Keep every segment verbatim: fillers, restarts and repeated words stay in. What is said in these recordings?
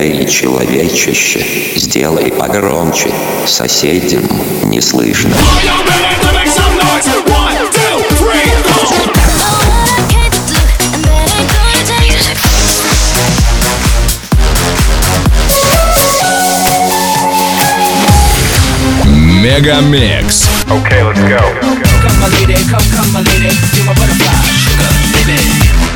Эй, человечище, сделай погромче, соседям не слышно. Мегамикс. Okay, let's go. Come my lady, come, come my lady, you're my butterfly, sugar, baby.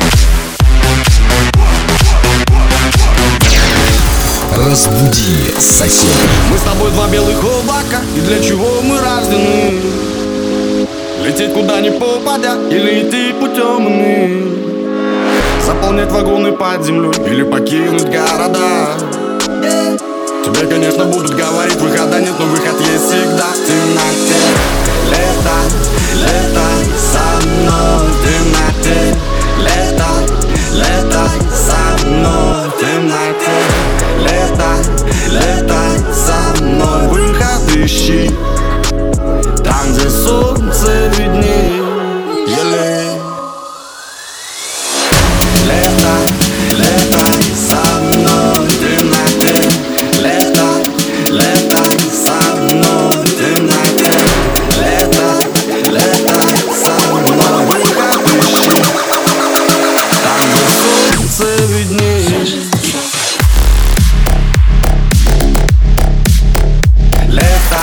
Разбуди соседа. Мы с тобой два белых облака, и для чего мы рождены? Лететь куда ни попадя, или идти путем иным? Заполнять вагоны под землю, или покинуть города? Тебе, конечно, будут говорить, выхода нет, но выход есть всегда. В темноте, лето, лето со мной. В темноте, лето, лето со мной. В темноте, лето, лето со мной. Выход ищи, там, где солнце виднее. Лето, лето со мной. В темноте, лето, лето со мной. В темноте, лето, лето со мной. Выход ищи, там, где солнце виднее. Лето.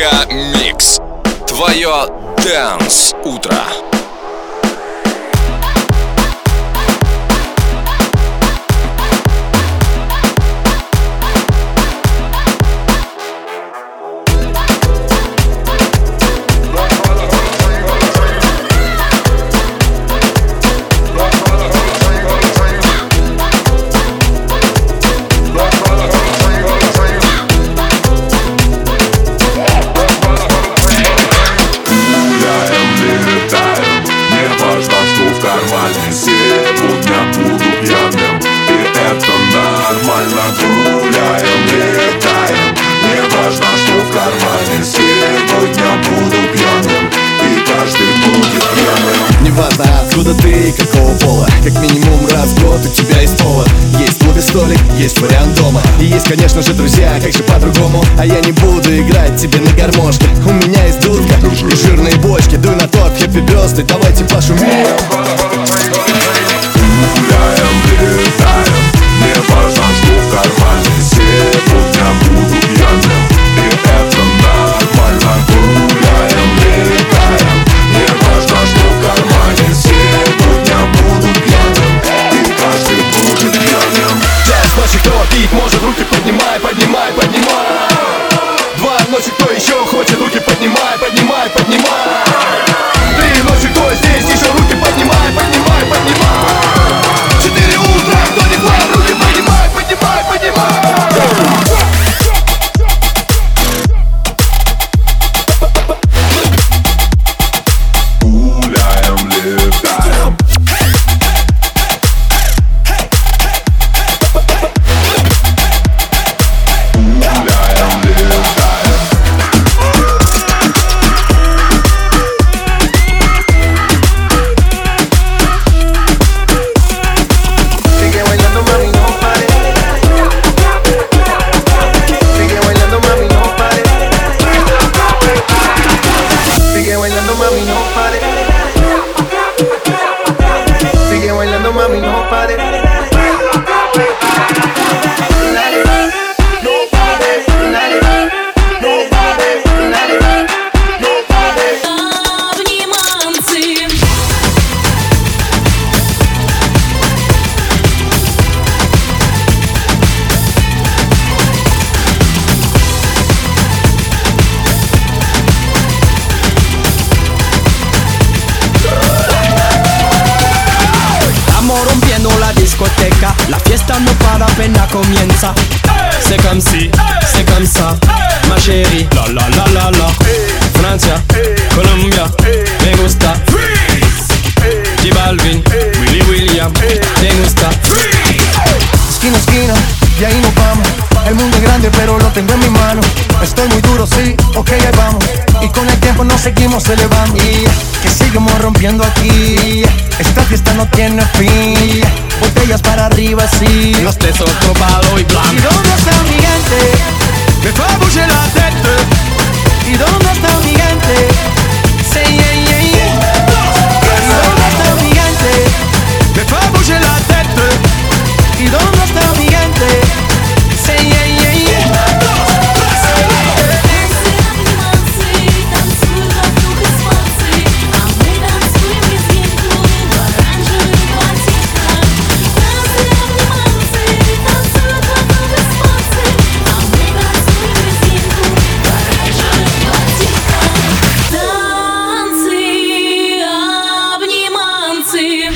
Мега-микс. Твое Dance утро. Неважно, откуда ты и какого пола, как минимум раз в год у тебя есть повод. Есть в клубе столик, есть вариант дома. И есть, конечно же, друзья, как же по-другому. А я не буду играть тебе на гармошке. У меня есть дудка и жирные бочки. Дуй на топ, хэппи бёрздэй, давайте пошумим. Гуляем, летаем, не важно, что в кармане. Сегодня буду пьяным, и это нормально. Гуляем, летаем, не важно, что в кармане. Сегодня буду пьяным, и каждый будет пьяным. Час ночи, кто пить может, руки поднимай, поднимай, поднимай. Два ночи, кто еще хочет, руки поднимай, поднимай, поднимай. Три ночи, кто здесь, еще руки поднимай, поднимай, поднимай. Четыре утра, кто не план, руки поднимай, поднимай, поднимай. Гуляем, летаем. Гуляем, летаем. Sigue bailando, mami, no pare. Sigue bailando, mami, no pare. Sigue bailando, mami, no pare. Sigue bailando, mami, no pare. No pare, nadie, no pare, nadie, no pare. Обниманцы. Estamos rompiendo la discoteca, la fiesta no para, apenas comienza. C'est comme si, c'est comme ça, ma chérie. La la la la la. Francia, Colombia, me gusta. J Balvin, Willy William, me gusta. Esquina a esquina, y ahí nos vamos. El mundo es grande pero lo tengo en mi mano. Estoy muy duro, sí, ok, ahí vamos. Y con el tiempo nos seguimos elevando. Y que seguimos rompiendo aquí. Esta fiesta no tiene fin. Botellas para arriba, sí. Los tres otro palo y ¿Y blanco. dónde está mi gente? Me fais bouger la tête. ¿Y dónde está mi gente? Say yeah, yeah, yeah. ¿Y dónde está mi gente? Me fais bouger la tête. ¿Y dónde está mi gente? Say yeah, yeah, yeah. Танцуют вокруг из пальцы, а мы танцуем резинку в оранжевых платьишках. Танцы, танцуют вокруг из пальцы, а мы танцуем резинку в оранжевых платьишках. Танцы, обниманцы.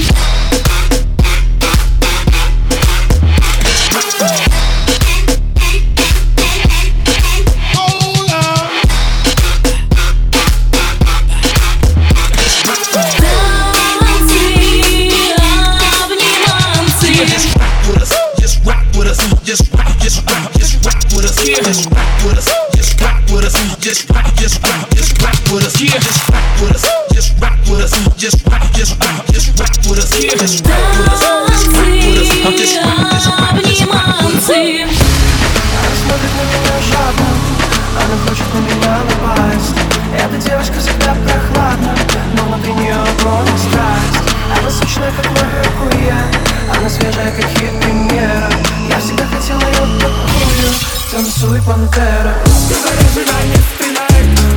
Обниманцы. Смотрит на меня жадно, она хочет на меня напасть. Эта девушка всегда прохладна, но внутри нее огонь и страсть. Она сочная, как маракуйя, она свежая, как хиппи-мера. Я всегда хотела ее такую, танцуй, пантера. Ты ожидание стреляет.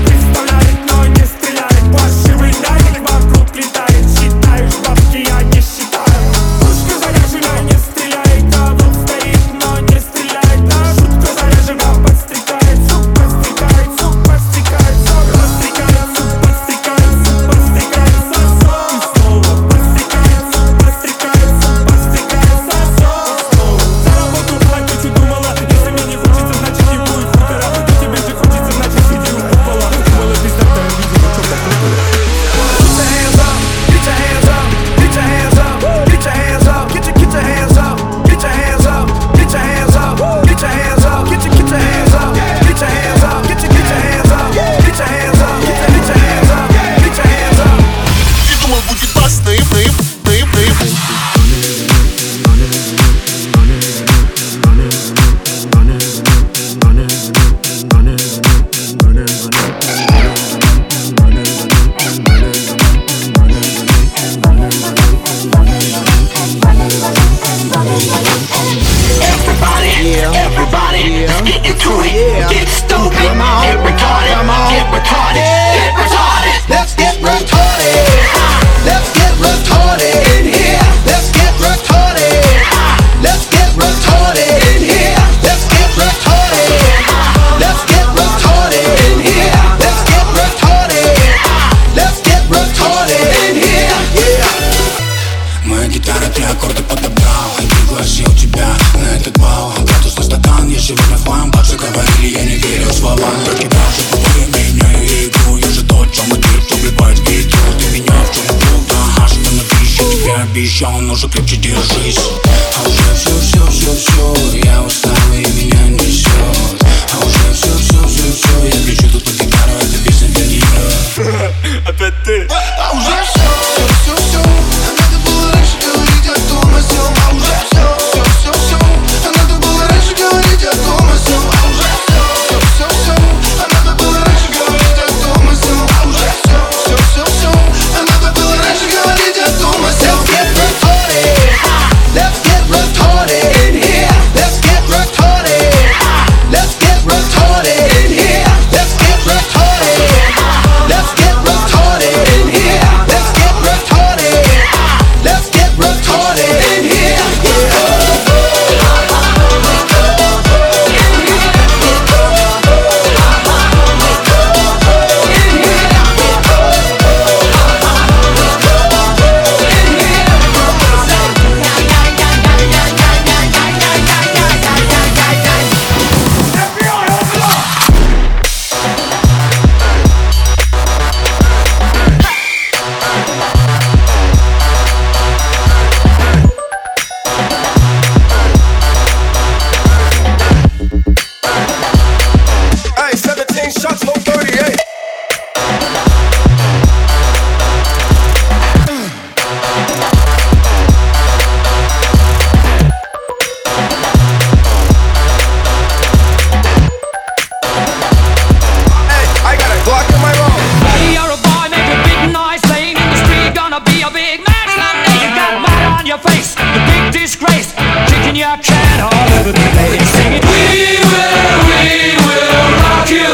обещал, но же крепче держись. А уже все-все-все-все-все, я устал и меня несет. А уже все-все-все-все, я кричу тут под гитару, это песня для нее. Опять ты. А уже все-все-все-все, надо было раньше говорить о том, о сём. А уже все-все-все-все, надо было раньше говорить о том, о сём. А уже все-все-все-все, надо было раньше говорить о том, о сём. А уже все-все-все-все, надо было раньше говорить о том, о сём. Let's get retarded in here. Let's get retarded. Let's get retarded in here. Let's get retarded. Let's get retarded in here. Let's get retarded. Let's get retarded in here. Hey, seventeen shots, no thirty-eight. Hey, I got a Glock in my room. Buddy, you're a boy, make a big noise, playing in the street, gonna be a big man someday. You got mud on your face, the big disgrace, kicking your can all over the place, singing, we will, we will rock you.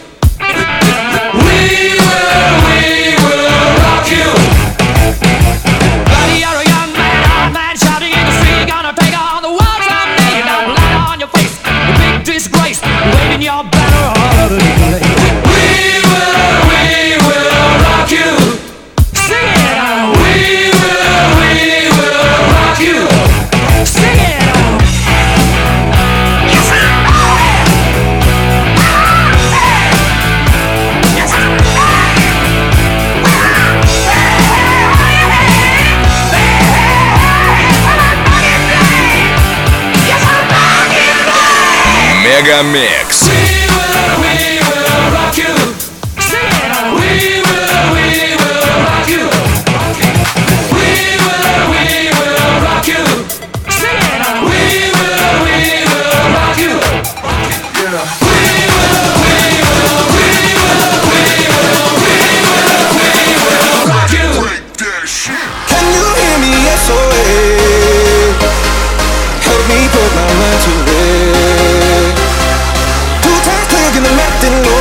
We will, we will rock you. Buddy, you're a young man, old man, shouting in the street, gonna take on the world someday. You got blood on your face, the big disgrace, waving your banner all over the place. We will, we will rock you. Sing it out. We will, we will rock you. Sing it out. Yes, I know it. Yes, I know Мегамикс. We will, we will rock you. Sing it out. We will, we will rock you. We will, we will rock you. Sing it out. We will, we will rock you. We will, we will, we will, we will, we will, we will rock you. Can you hear me? S O S. Help me put my mind to it. Two times clicking and letting go.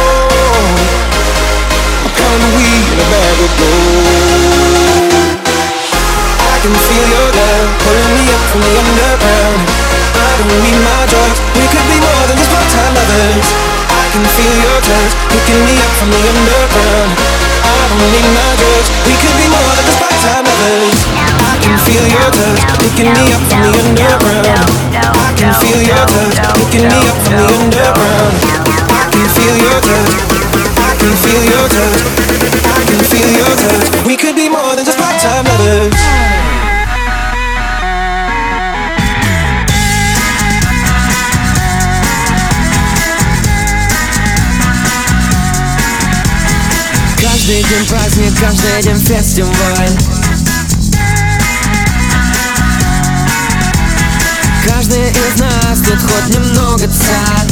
A pound of weed in a bag of gold. I can feel your love pulling me up from the underground. I don't need my drugs. We could be more than just part-time lovers. I can feel your touch picking me up from the underground. I don't need my drugs. We could be more than just part-time lovers. I can feel your touch picking me up from the underground. I can feel your touch picking me up from the underground. I can feel your touch. I can feel your touch. I can feel your touch. We could be more than just part-time lovers. Каждый день праздник, каждый день фестиваль. Каждый из нас тут хоть немного царь.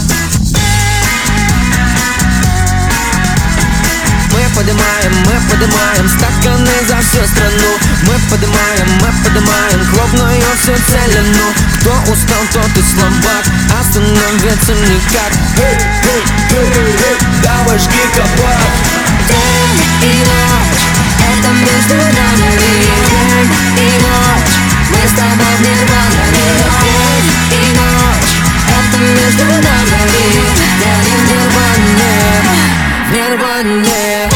Мы поднимаем, мы поднимаем стаканы за всю страну. Мы поднимаем, мы поднимаем клубную всю целину. Кто устал, тот и слабак, остановиться никак. Эй, эй, эй, эй, давай жги кабак. День и ночь, это между нами. День и ночь, мы с тобой в нирване. День и ночь, это между нами. День и нирване, в нирване,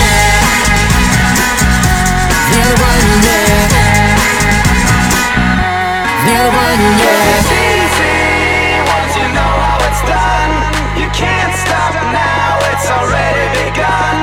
в нирване, в нирване. Once you know how it's done, you can't stop now, it's already begun.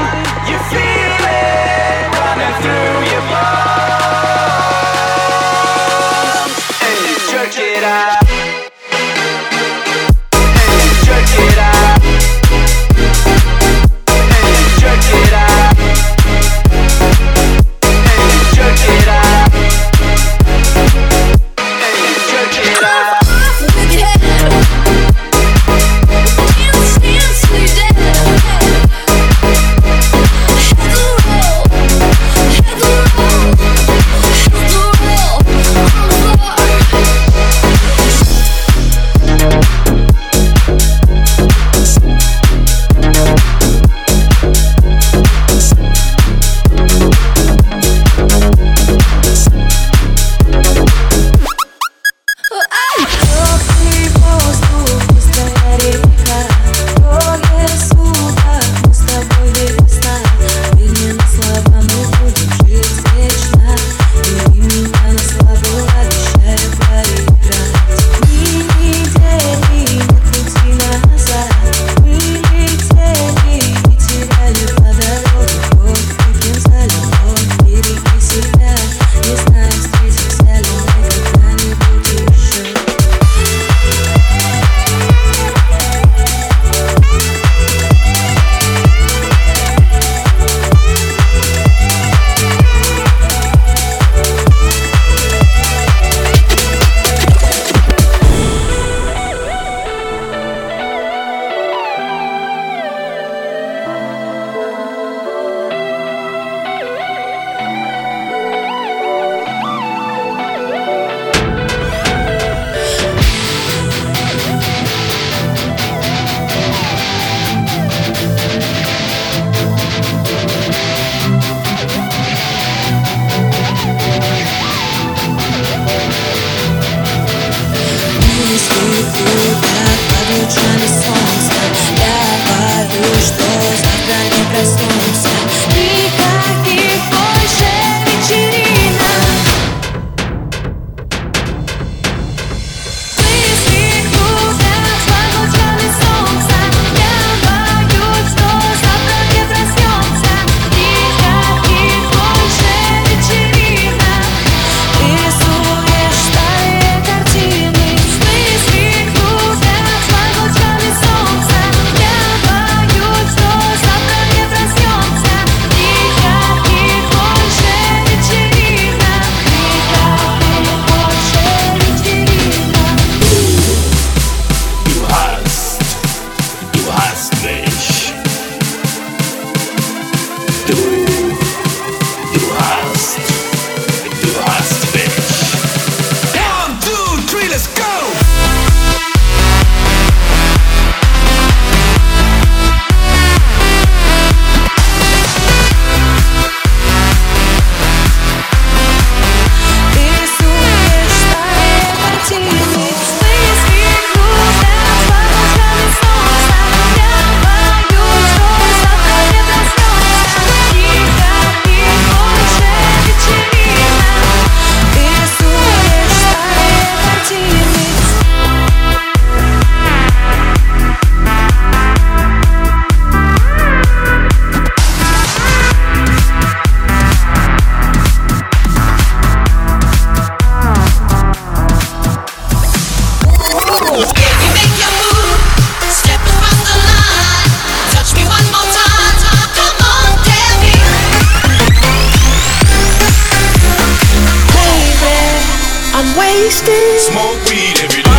wasted. Smoke weed every day.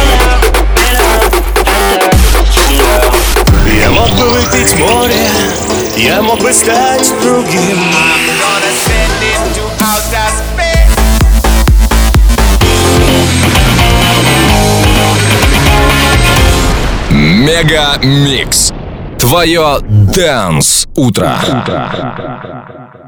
Я мог бы выпить море, я мог бы стать другим. Мега Микс. Твое Dance утро.